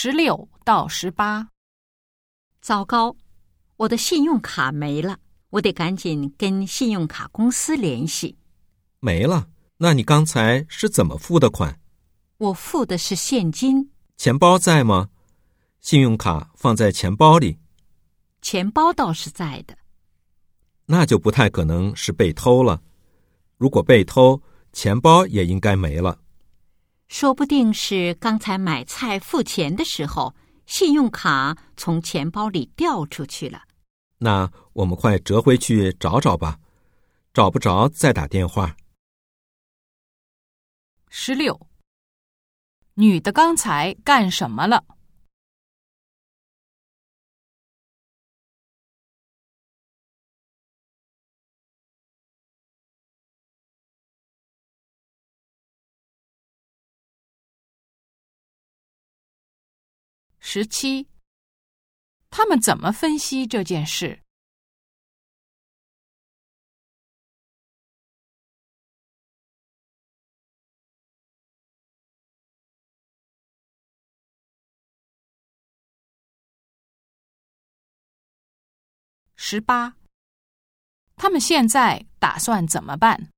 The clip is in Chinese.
16到18。 糟糕，我的信用卡没了，我得赶紧跟信用卡公司联系。 没了？那你刚才是怎么付的款？ 我付的是现金。 钱包在吗？信用卡放在钱包里。 钱包倒是在的。 那就不太可能是被偷了。如果被偷，钱包也应该没了。 说不定是刚才买菜付钱的时候，信用卡从钱包里掉出去了。 那我们快折回去找找吧，找不着再打电话。 16，女的刚才干什么了？17，他们怎么分析这件事？18，他们现在打算怎么办？